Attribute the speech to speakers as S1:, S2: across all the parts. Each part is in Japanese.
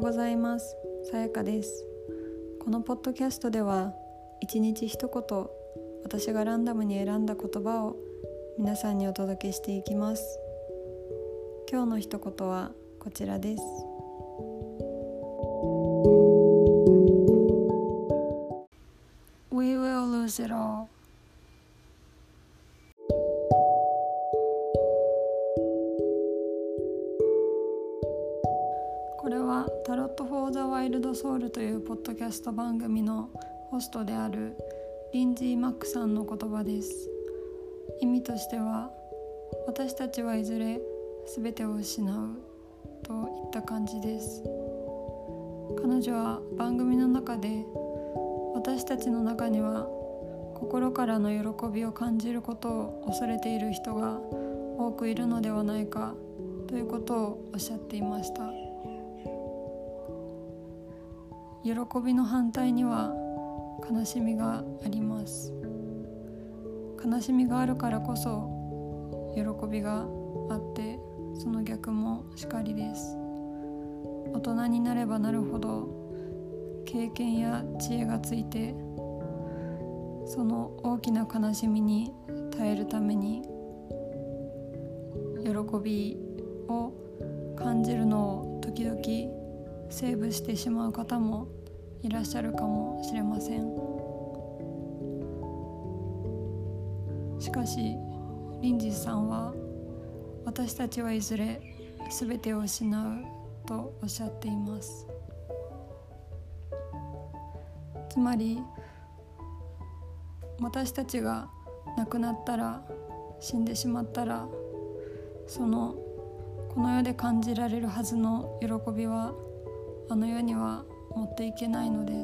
S1: ございます。さやかです。このポッドキャストでは一日一言、私がランダムに選んだ言葉を皆さんにお届けしていきます。今日の一言はこちらです。We will lose it all。これはタロット・フォー・ザ・ワイルド・ソウルというポッドキャスト番組のホストであるリンジー・マックさんの言葉です。意味としては、私たちはいずれ全てを失うといった感じです。彼女は番組の中で、私たちの中には心からの喜びを感じることを恐れている人が多くいるのではないかということをおっしゃっていました。喜びの反対には悲しみがあります。悲しみがあるからこそ喜びがあって、その逆もしかりです。大人になればなるほど経験や知恵がついて、その大きな悲しみに耐えるために喜びを感じるのを時々セーブしてしまう方もいらっしゃるかもしれません。しかしリンジーさんは、私たちはいずれ全てを失うとおっしゃっています。つまり私たちが亡くなったら、死んでしまったら、この世で感じられるはずの喜びはあの世には持っていけないのです。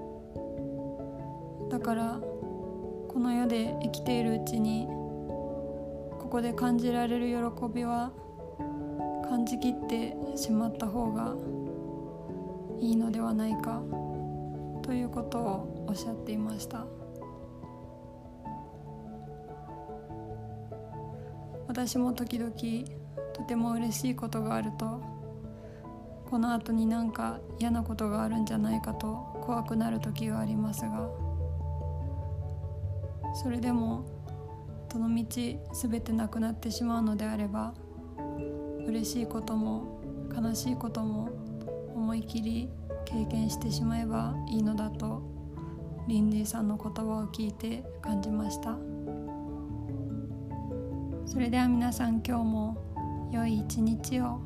S1: だからこの世で生きているうちに、ここで感じられる喜びは感じきってしまった方がいいのではないかということをおっしゃっていました。私も時々とても嬉しいことがあると、この後になんか嫌なことがあるんじゃないかと怖くなる時がありますが、それでもどの道全てなくなってしまうのであれば、嬉しいことも悲しいことも思い切り経験してしまえばいいのだと、リンジーさんの言葉を聞いて感じました。それでは皆さん、今日も良い一日を。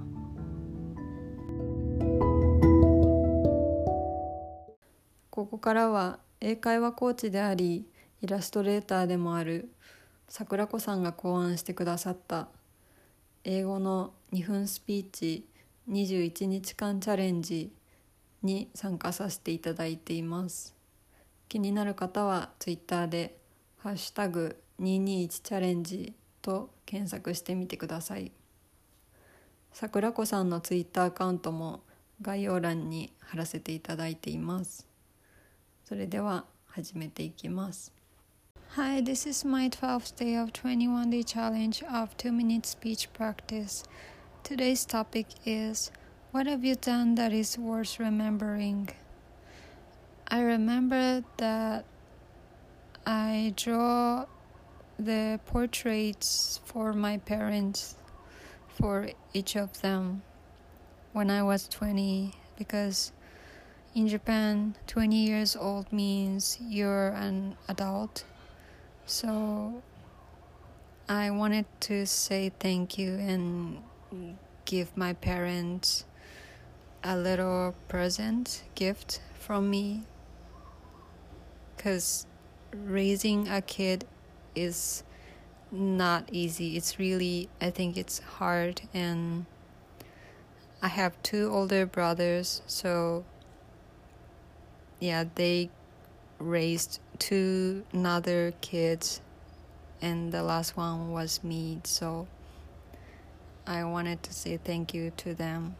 S1: ここからは英会話コーチでありイラストレーターでもある桜子さんが考案してくださった英語の2分スピーチ21日間チャレンジに参加させていただいています。気になる方はツイッターでハッシュタグ221チャレンジと検索してみてください。桜子さんのツイッターアカウントも概要欄に貼らせていただいています。それでは始めていきます。Hi, this is my 12th day of 21-day challenge of 2-minute speech practice. Today's topic is, what have you done that is worth remembering? I remember that I draw the portraits for my parents, for each of them, when I was 20, because in Japan, 20 years old means you're an adult. So I wanted to say thank you and give my parents a little gift from me, because raising a kid is not easy. It's really, I think it's hard, and I have 2 older brothers, so yeah, they raised 2 other kids, and the last one was me, so I wanted to say thank you to them.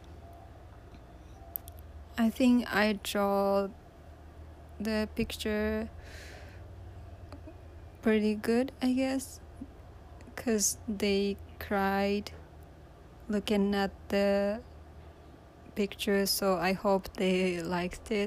S1: I think I draw the picture pretty good, I guess, because they cried looking at the pictures, so I hope they liked it.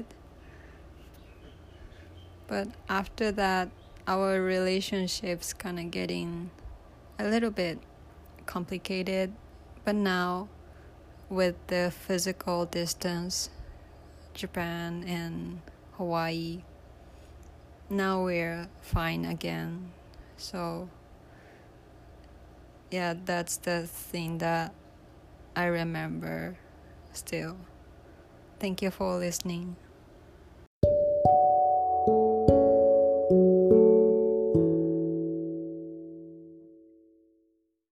S1: But after that, our relationships kind of getting a little bit complicated. But now, with the physical distance, Japan and Hawaii, now we're fine again. So yeah, that's the thing that I remember still. Thank you for listening.